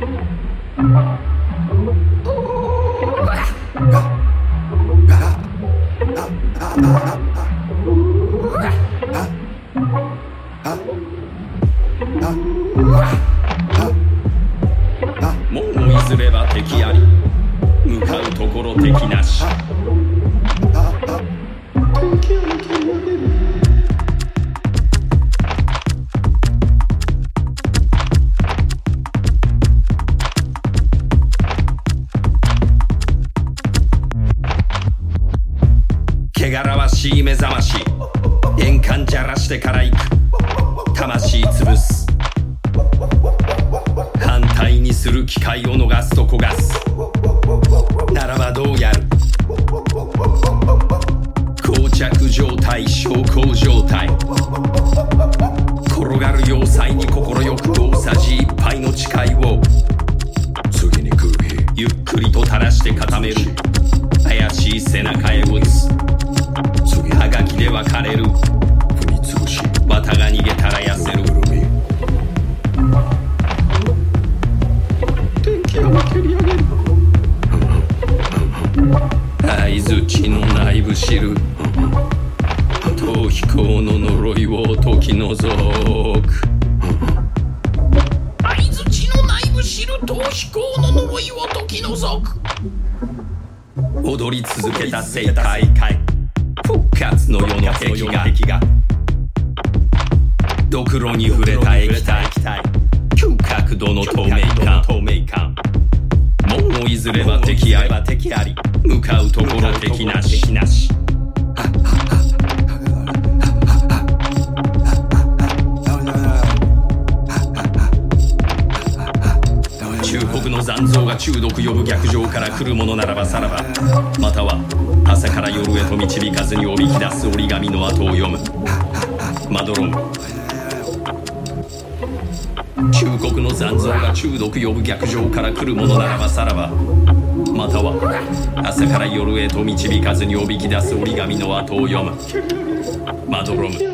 門を譲れば敵あり、向かうところ敵なし。汚らわしい目覚まし、円環じゃらしてから行く。魂潰す、反対にする機会を逃すと焦がす。ならばどうやる。膠着状態、昇降状態。転がる要塞に心よく大さじ1杯の誓いを次に来る日、ゆっくりと垂らして固める。怪しい背中へ打つ。はがきで別れる。踏みつぶし、綿が逃げたら痩せる。天気を蹴り上げる。相づちの内部知る。逃避行の呪いを解き除く。相づちの内部知る。逃避行の呪いを解き除く。踊り続けた正解。復活の世の敵がドクロに触れた液体。急角度の透明感。門を譲れば敵あり、向かうところ敵なし。忠告の残像が中毒呼ぶ逆上から来るものならばさらば、または朝から夜へと導かずにおびき出す折り紙の後を読む。まどろむ。忠告の残像が中毒呼ぶ逆上から来るものならばさらば、または朝から夜へと導かずにおびき出す折り紙の後を読む。まどろむ。